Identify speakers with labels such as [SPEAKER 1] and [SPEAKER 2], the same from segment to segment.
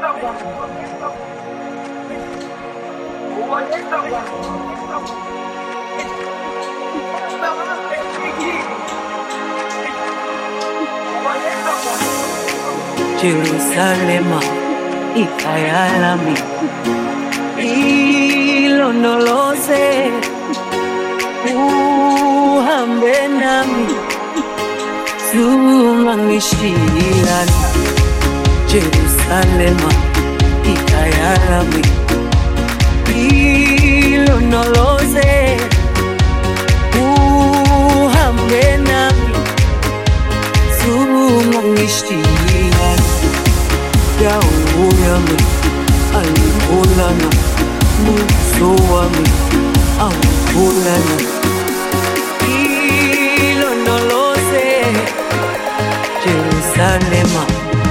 [SPEAKER 1] Jerusalema ikayalami ilondoloze uhambe nami zungangishilana. Jerusalema ikayalami ilondoloze uhambe nami zungangishilana. Dawo yami ayikholana, buso wami awukholana. Ilondoloze Jerusalema.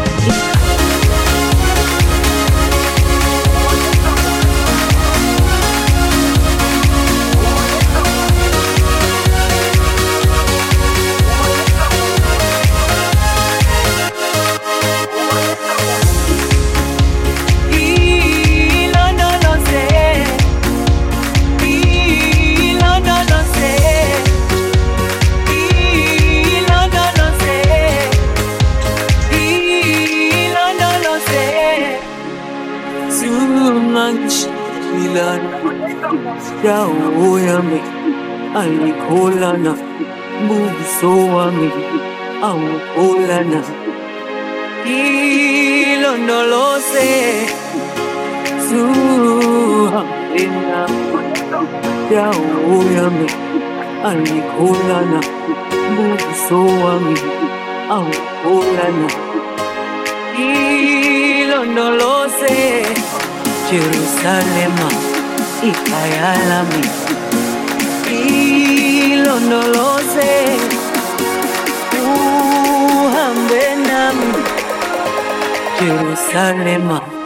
[SPEAKER 1] Dawo yami ayikholana, buso wami awukholana. Ilondoloze zuhambe nami. Dawo yami ayikholana, buso wami awukholana. Ilondoloze Jerusalema ikayalami ilondoloze uhambe nami Jerusalema.